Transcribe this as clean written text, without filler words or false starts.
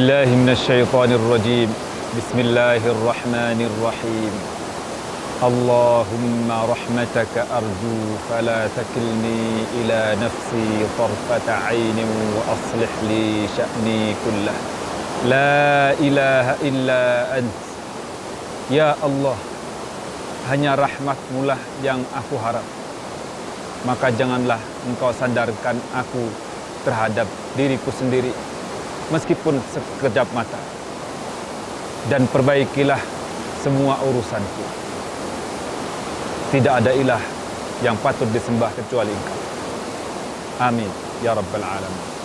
billahi minasyaitonir rajim. Bismillahirrahmanirrahim. Allahumma rahmataka arju fala takilni ila nafsi tarfata ainin wa aslih li sya'ni kullah. La ilaha illa ant. Ya Allah, hanya rahmat-Mu lah yang aku harap. Maka janganlah Engkau sandarkan aku terhadap diriku sendiri, meskipun sekejap mata. Dan perbaikilah semua urusanku. Tidak ada ilah yang patut disembah kecuali Engkau. Amin ya rabbal alamin.